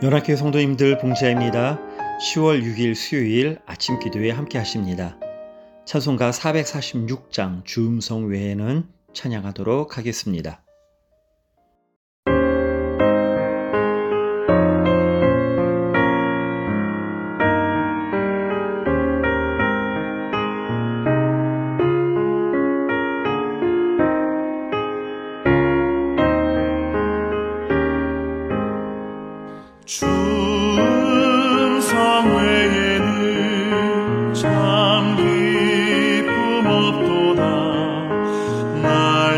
연합교회 성도님들 봉지아입니다. 10월 6일 수요일 아침 기도에 함께 하십니다. 찬송가 446장 주음성 외에는 찬양하도록 하겠습니다. 주음성 외에는 참 기쁨 없도다. 날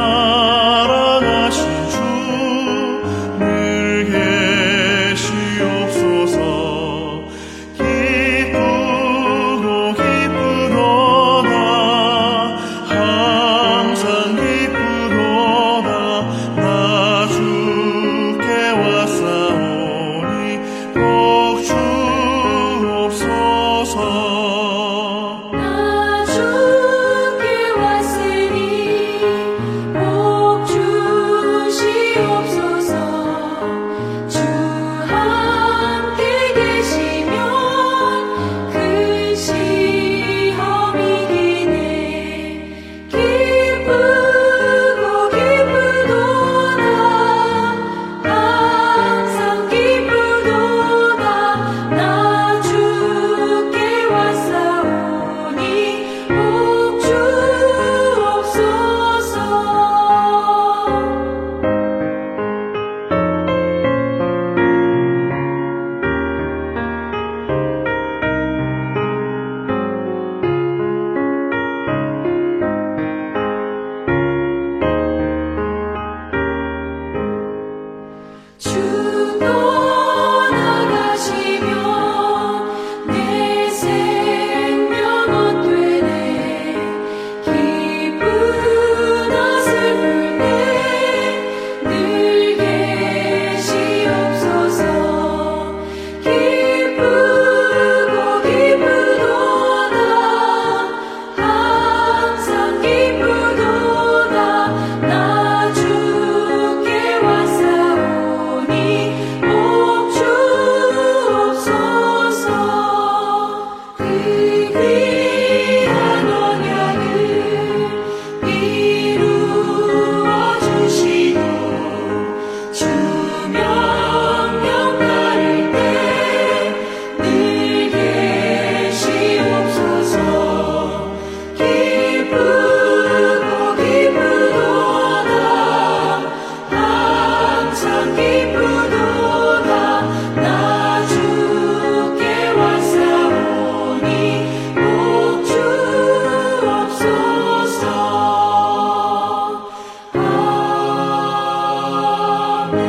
사랑하신 주 늘 계시옵소서. 기쁘고 기쁘도다. 항상 기쁘도다. 나 주께 왔사오니 복 주옵소서. 나 주께 왔으니 복 주시옵소서. 주 함께 계시면 큰 시험이 기네. 기쁘고 기쁘도다. 항상 기쁘도다. 나 주께 왔사오니 복 주옵소서. 주 떠나가시면 내 생명 헛되네. 기쁘나 슬플 때 늘 계시옵소서. 기쁘고 기쁘도다. 항상 기쁘도다. 나 주께 왔사오니 복 주옵소서. 그 귀한 언약을 이루어 주시고 주 명령 따를 때 늘 계시옵소서. 기쁘고 기쁘도다. 항상 기쁘도다. 나 주께 왔사오니 복 주옵소서. 아멘.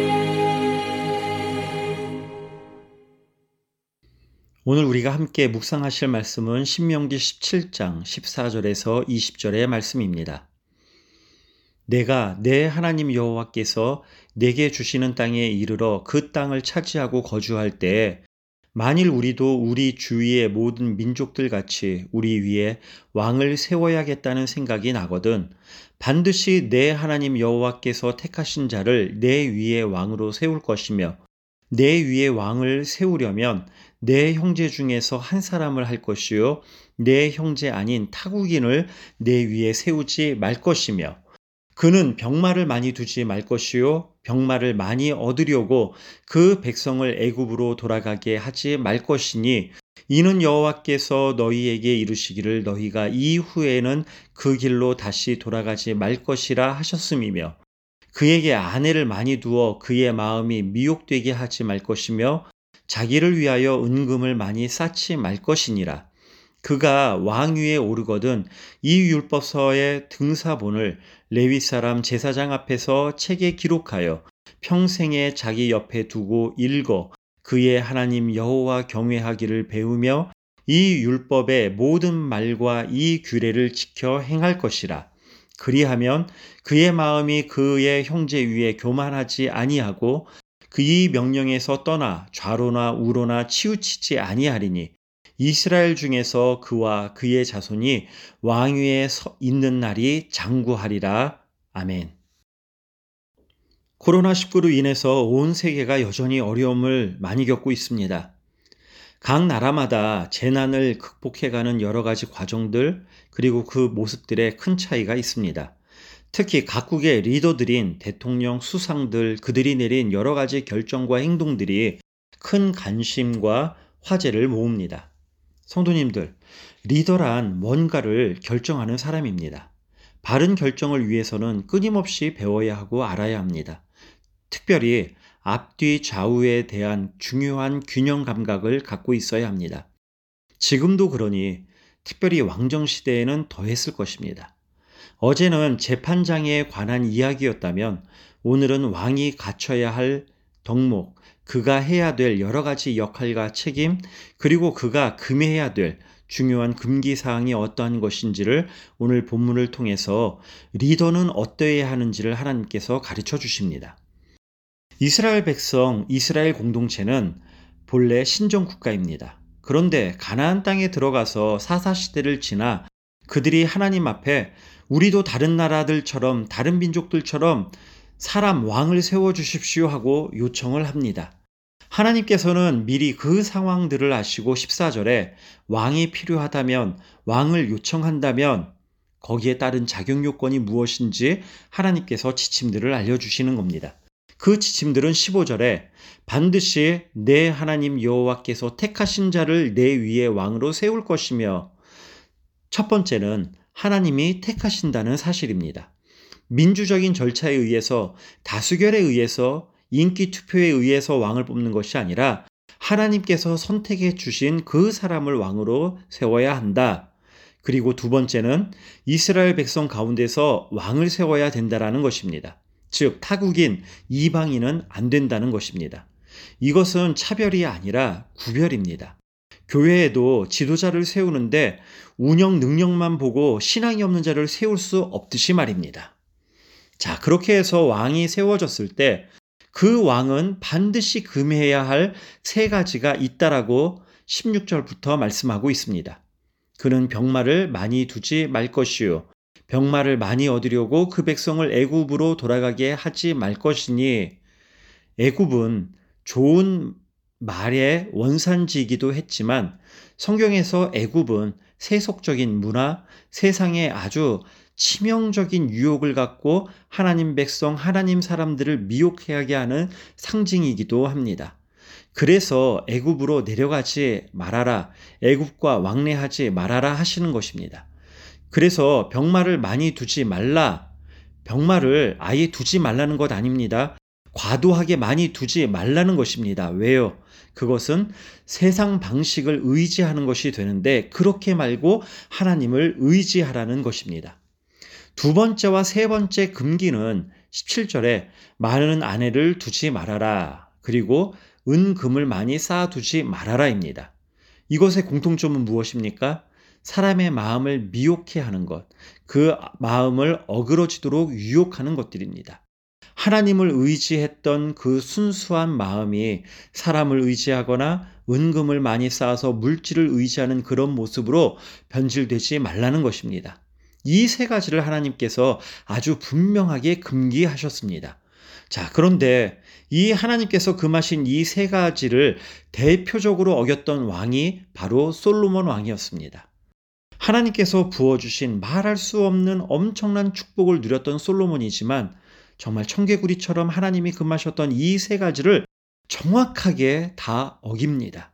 오늘 우리가 함께 묵상하실 말씀은 신명기 17장 14절에서 20절의 말씀입니다. 내가 내 하나님 여호와께서 내게 주시는 땅에 이르러 그 땅을 차지하고 거주할 때에 만일 우리도 우리 주위의 모든 민족들 같이 우리 위에 왕을 세워야겠다는 생각이 나거든 반드시 내 하나님 여호와께서 택하신 자를 내 위에 왕으로 세울 것이며 내 위에 왕을 세우려면 내 형제 중에서 한 사람을 할 것이요 내 형제 아닌 타국인을 내 위에 세우지 말 것이며 그는 병마를 많이 두지 말 것이요 병마를 많이 얻으려고 그 백성을 애굽으로 돌아가게 하지 말 것이니 이는 여호와께서 너희에게 이르시기를 너희가 이후에는 그 길로 다시 돌아가지 말 것이라 하셨음이며 그에게 아내를 많이 두어 그의 마음이 미혹되게 하지 말 것이며 자기를 위하여 은금을 많이 쌓지 말 것이니라. 그가 왕 위에 오르거든 이 율법서의 등사본을 레위 사람 제사장 앞에서 책에 기록하여 평생에 자기 옆에 두고 읽어 그의 하나님 여호와 경외하기를 배우며 이 율법의 모든 말과 이 규례를 지켜 행할 것이라. 그리하면 그의 마음이 그의 형제 위에 교만하지 아니하고 그의 명령에서 떠나 좌로나 우로나 치우치지 아니하리니 이스라엘 중에서 그와 그의 자손이 왕위에 있는 날이 장구하리라. 아멘. 코로나19로 인해서 온 세계가 여전히 어려움을 많이 겪고 있습니다. 각 나라마다 재난을 극복해가는 여러 가지 과정들, 그리고 그 모습들에 큰 차이가 있습니다. 특히 각국의 리더들인 대통령, 수상들, 그들이 내린 여러 가지 결정과 행동들이 큰 관심과 화제를 모읍니다. 성도님들, 리더란 뭔가를 결정하는 사람입니다. 바른 결정을 위해서는 끊임없이 배워야 하고 알아야 합니다. 특별히 앞뒤 좌우에 대한 중요한 균형 감각을 갖고 있어야 합니다. 지금도 그러니 특별히 왕정시대에는 더했을 것입니다. 어제는 재판장에 관한 이야기였다면 오늘은 왕이 갖춰야 할 덕목, 그가 해야 될 여러 가지 역할과 책임, 그리고 그가 금해야 될 중요한 금기사항이 어떠한 것인지를 오늘 본문을 통해서 리더는 어떠해야 하는지를 하나님께서 가르쳐 주십니다. 이스라엘 백성, 이스라엘 공동체는 본래 신정국가입니다. 그런데 가나안 땅에 들어가서 사사시대를 지나 그들이 하나님 앞에 우리도 다른 나라들처럼, 다른 민족들처럼 사람 왕을 세워주십시오 하고 요청을 합니다. 하나님께서는 미리 그 상황들을 아시고 14절에 왕이 필요하다면, 왕을 요청한다면 거기에 따른 자격 요건이 무엇인지 하나님께서 지침들을 알려주시는 겁니다. 그 지침들은 15절에 반드시 내 하나님 여호와께서 택하신 자를 내 위에 왕으로 세울 것이며, 첫 번째는 하나님이 택하신다는 사실입니다. 민주적인 절차에 의해서, 다수결에 의해서, 인기 투표에 의해서 왕을 뽑는 것이 아니라 하나님께서 선택해 주신 그 사람을 왕으로 세워야 한다. 그리고 두 번째는 이스라엘 백성 가운데서 왕을 세워야 된다라는 것입니다. 즉 타국인 이방인은 안 된다는 것입니다. 이것은 차별이 아니라 구별입니다. 교회에도 지도자를 세우는데 운영 능력만 보고 신앙이 없는 자를 세울 수 없듯이 말입니다. 자, 그렇게 해서 왕이 세워졌을 때 그 왕은 반드시 금해야 할 세 가지가 있다라고 16절부터 말씀하고 있습니다. 그는 병마를 많이 두지 말 것이요, 병마를 많이 얻으려고 그 백성을 애굽으로 돌아가게 하지 말 것이니, 애굽은 좋은 말의 원산지이기도 했지만 성경에서 애굽은 세속적인 문화, 세상에 아주 치명적인 유혹을 갖고 하나님 백성, 하나님 사람들을 미혹하게 하는 상징이기도 합니다. 그래서 애굽으로 내려가지 말아라, 애굽과 왕래하지 말아라 하시는 것입니다. 그래서 병마를 많이 두지 말라, 병마를 아예 두지 말라는 것 아닙니다. 과도하게 많이 두지 말라는 것입니다. 왜요? 그것은 세상 방식을 의지하는 것이 되는데 그렇게 말고 하나님을 의지하라는 것입니다. 두 번째와 세 번째 금기는 17절에 많은 아내를 두지 말아라, 그리고 은금을 많이 쌓아두지 말아라입니다. 이것의 공통점은 무엇입니까? 사람의 마음을 미혹해 하는 것, 그 마음을 어그러지도록 유혹하는 것들입니다. 하나님을 의지했던 그 순수한 마음이 사람을 의지하거나 은금을 많이 쌓아서 물질을 의지하는 그런 모습으로 변질되지 말라는 것입니다. 이 세 가지를 하나님께서 아주 분명하게 금기하셨습니다. 자, 그런데 이 하나님께서 금하신 이 세 가지를 대표적으로 어겼던 왕이 바로 솔로몬 왕이었습니다. 하나님께서 부어주신 말할 수 없는 엄청난 축복을 누렸던 솔로몬이지만 정말 청개구리처럼 하나님이 금하셨던 이 세 가지를 정확하게 다 어깁니다.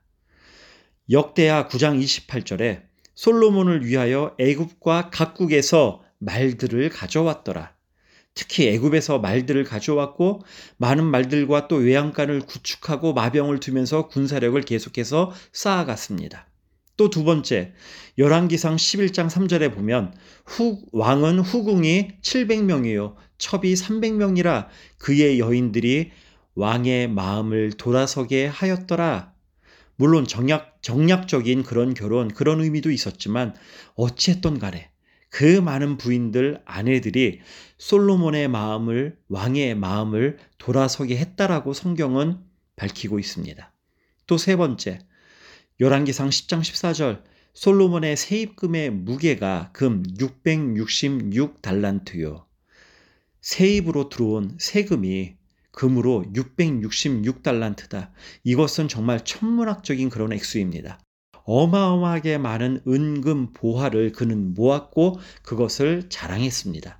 역대하 9장 28절에 솔로몬을 위하여 애굽과 각국에서 말들을 가져왔더라. 특히 애굽에서 말들을 가져왔고 많은 말들과 또 외양간을 구축하고 마병을 두면서 군사력을 계속해서 쌓아갔습니다. 또 두 번째, 열왕기상 11장 3절에 보면 왕은 후궁이 700명이요 첩이 300명이라 그의 여인들이 왕의 마음을 돌아서게 하였더라. 물론 정략적인 그런 결혼, 그런 의미도 있었지만 어찌했던 간에 그 많은 부인들, 아내들이 솔로몬의 마음을, 왕의 마음을 돌아서게 했다라고 성경은 밝히고 있습니다. 또 세 번째, 열왕기상 10장 14절, 솔로몬의 세입금의 무게가 금 666달란트요. 세입으로 들어온 세금이 금으로 666달란트다. 이것은 정말 천문학적인 그런 액수입니다. 어마어마하게 많은 은금 보화를 그는 모았고 그것을 자랑했습니다.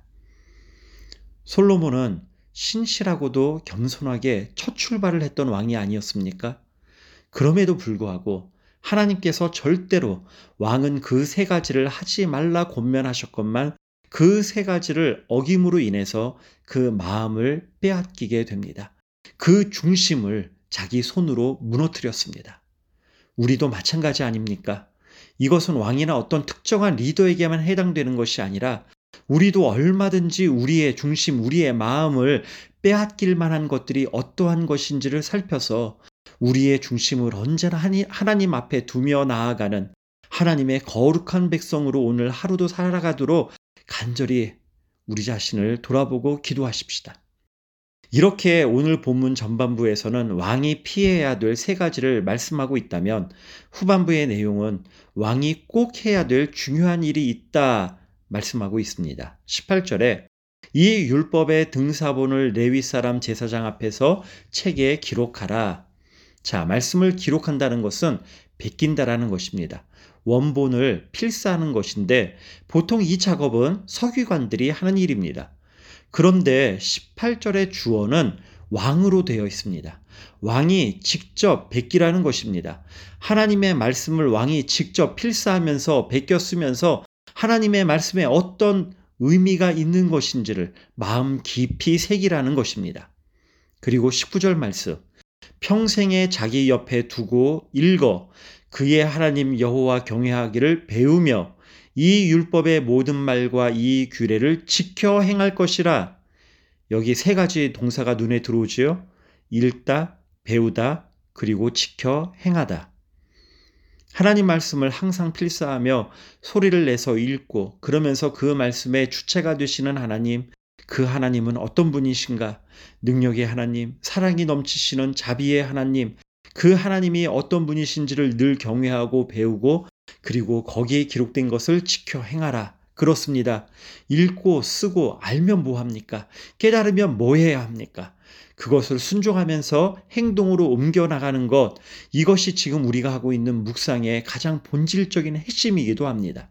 솔로몬은 신실하고도 겸손하게 첫 출발을 했던 왕이 아니었습니까? 그럼에도 불구하고 하나님께서 절대로 왕은 그 세 가지를 하지 말라 권면하셨건만 그 세 가지를 어김으로 인해서 그 마음을 빼앗기게 됩니다. 그 중심을 자기 손으로 무너뜨렸습니다. 우리도 마찬가지 아닙니까? 이것은 왕이나 어떤 특정한 리더에게만 해당되는 것이 아니라 우리도 얼마든지 우리의 중심, 우리의 마음을 빼앗길 만한 것들이 어떠한 것인지를 살펴서 우리의 중심을 언제나 하나님 앞에 두며 나아가는 하나님의 거룩한 백성으로 오늘 하루도 살아가도록 간절히 우리 자신을 돌아보고 기도하십시다. 이렇게 오늘 본문 전반부에서는 왕이 피해야 될 세 가지를 말씀하고 있다면 후반부의 내용은 왕이 꼭 해야 될 중요한 일이 있다 말씀하고 있습니다. 18절에 이 율법의 등사본을 레위 사람 제사장 앞에서 책에 기록하라. 자, 말씀을 기록한다는 것은 베낀다라는 것입니다. 원본을 필사하는 것인데 보통 이 작업은 서기관들이 하는 일입니다. 그런데 18절의 주어는 왕으로 되어 있습니다. 왕이 직접 베끼라는 것입니다. 하나님의 말씀을 왕이 직접 필사하면서 베껴 쓰면서 하나님의 말씀에 어떤 의미가 있는 것인지를 마음 깊이 새기라는 것입니다. 그리고 19절 말씀, 평생에 자기 옆에 두고 읽어 그의 하나님 여호와 경외하기를 배우며 이 율법의 모든 말과 이 규례를 지켜 행할 것이라. 여기 세 가지 동사가 눈에 들어오지요. 읽다, 배우다, 그리고 지켜 행하다. 하나님 말씀을 항상 필사하며 소리를 내서 읽고 그러면서 그 말씀의 주체가 되시는 하나님, 그 하나님은 어떤 분이신가? 능력의 하나님, 사랑이 넘치시는 자비의 하나님, 그 하나님이 어떤 분이신지를 늘 경외하고 배우고 그리고 거기에 기록된 것을 지켜 행하라. 그렇습니다. 읽고 쓰고 알면 뭐합니까? 깨달으면 뭐 해야 합니까? 그것을 순종하면서 행동으로 옮겨나가는 것, 이것이 지금 우리가 하고 있는 묵상의 가장 본질적인 핵심이기도 합니다.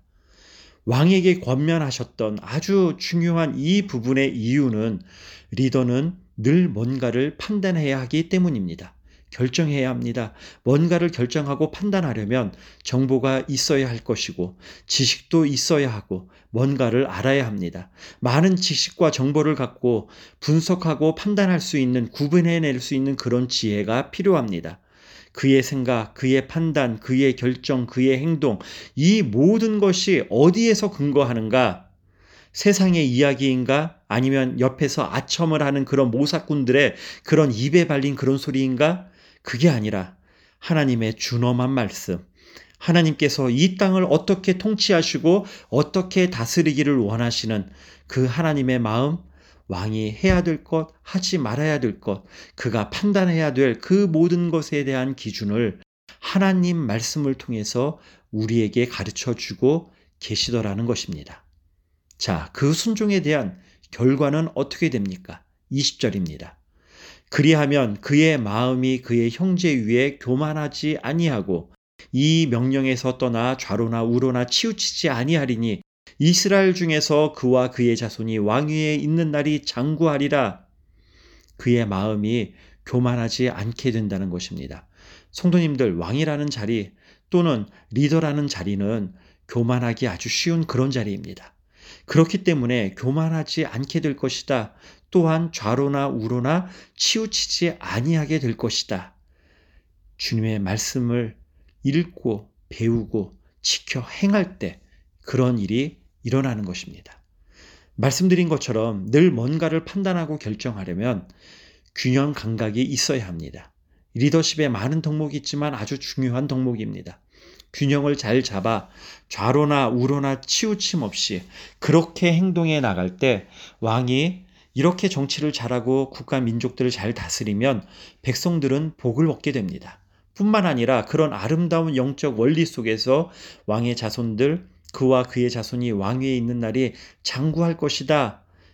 왕에게 권면하셨던 아주 중요한 이 부분의 이유는 리더는 늘 뭔가를 판단해야 하기 때문입니다. 결정해야 합니다. 뭔가를 결정하고 판단하려면 정보가 있어야 할 것이고 지식도 있어야 하고 뭔가를 알아야 합니다. 많은 지식과 정보를 갖고 분석하고 판단할 수 있는, 구분해낼 수 있는 그런 지혜가 필요합니다. 그의 생각, 그의 판단, 그의 결정, 그의 행동, 이 모든 것이 어디에서 근거하는가? 세상의 이야기인가? 아니면 옆에서 아첨을 하는 그런 모사꾼들의 그런 입에 발린 그런 소리인가? 그게 아니라 하나님의 준엄한 말씀, 하나님께서 이 땅을 어떻게 통치하시고 어떻게 다스리기를 원하시는 그 하나님의 마음, 왕이 해야 될 것, 하지 말아야 될 것, 그가 판단해야 될 그 모든 것에 대한 기준을 하나님 말씀을 통해서 우리에게 가르쳐 주고 계시더라는 것입니다. 자, 그 순종에 대한 결과는 어떻게 됩니까? 20절입니다. 그리하면 그의 마음이 그의 형제 위에 교만하지 아니하고 이 명령에서 떠나 좌로나 우로나 치우치지 아니하리니 이스라엘 중에서 그와 그의 자손이 왕위에 있는 날이 장구하리라. 그의 마음이 교만하지 않게 된다는 것입니다. 성도님들, 왕이라는 자리 또는 리더라는 자리는 교만하기 아주 쉬운 그런 자리입니다. 그렇기 때문에 교만하지 않게 될 것이다. 또한 좌로나 우로나 치우치지 아니하게 될 것이다. 주님의 말씀을 읽고 배우고 지켜 행할 때 그런 일이 일어나는 것입니다. 말씀드린 것처럼 늘 뭔가를 판단하고 결정하려면 균형 감각이 있어야 합니다. 리더십에 많은 덕목이 있지만 아주 중요한 덕목입니다. 균형을 잘 잡아 좌로나 우로나 치우침 없이 그렇게 행동해 나갈 때 왕이 이렇게 정치를 잘하고 국가 민족들을 잘 다스리면 백성들은 복을 얻게 됩니다. 뿐만 아니라 그런 아름다운 영적 원리 속에서 왕의 자손들, 그와 그의 자손이 왕위에 있는 날이 장구할 것이다.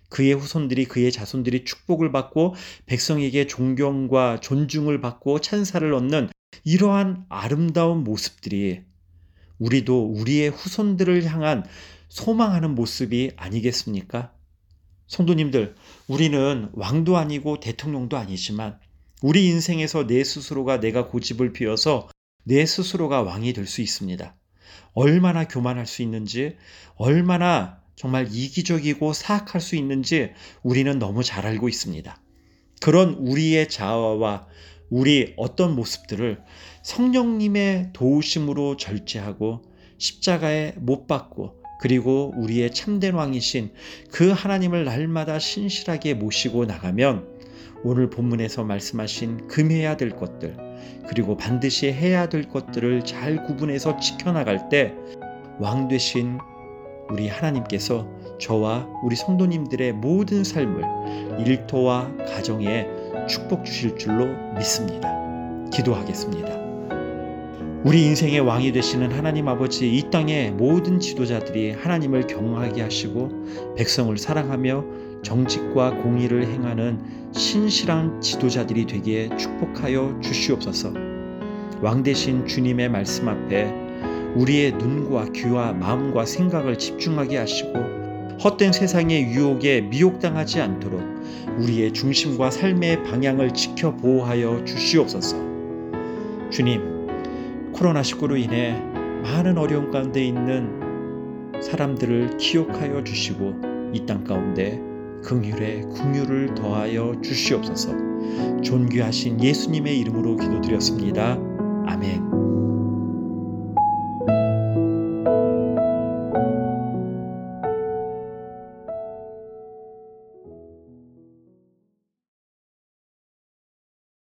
그의 후손들이, 그의 자손들이 축복을 받고 백성에게 존경과 존중을 받고 찬사를 얻는 이러한 아름다운 모습들이 우리도 우리의 후손들을 향한 소망하는 모습이 아니겠습니까? 성도님들, 우리는 왕도 아니고 대통령도 아니지만 우리 인생에서 내 스스로가 내가 고집을 피워서 내 스스로가 왕이 될 수 있습니다. 얼마나 교만할 수 있는지, 얼마나 정말 이기적이고 사악할 수 있는지 우리는 너무 잘 알고 있습니다. 그런 우리의 자아와 우리 어떤 모습들을 성령님의 도우심으로 절제하고 십자가에 못 박고, 그리고 우리의 참된 왕이신 그 하나님을 날마다 신실하게 모시고 나가면 오늘 본문에서 말씀하신 금해야 될 것들, 그리고 반드시 해야 될 것들을 잘 구분해서 지켜나갈 때 왕 되신 우리 하나님께서 저와 우리 성도님들의 모든 삶을, 일터와 가정에 축복 주실 줄로 믿습니다. 기도하겠습니다. 우리 인생의 왕이 되시는 하나님 아버지, 이 땅의 모든 지도자들이 하나님을 경외하게 하시고 백성을 사랑하며 정직과 공의를 행하는 신실한 지도자들이 되기에 축복하여 주시옵소서. 왕 되신 주님의 말씀 앞에 우리의 눈과 귀와 마음과 생각을 집중하게 하시고 헛된 세상의 유혹에 미혹당하지 않도록 우리의 중심과 삶의 방향을 지켜 보호하여 주시옵소서. 주님, 코로나19로 인해 많은 어려움 가운데 있는 사람들을 기억하여 주시고 이 땅 가운데 긍휼에 긍휼을 더하여 주시옵소서. 존귀하신 예수님의 이름으로 기도드렸습니다. 아멘.